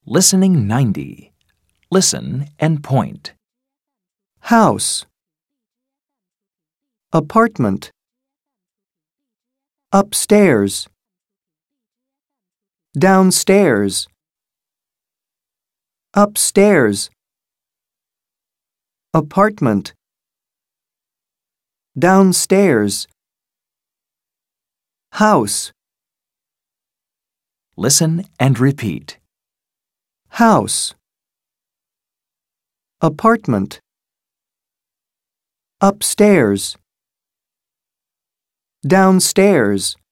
Listening 90. Listen and point. House. Apartment. Upstairs. Downstairs. Upstairs. Apartment. Downstairs. House. Listen and repeat. House. Apartment. Upstairs. Downstairs.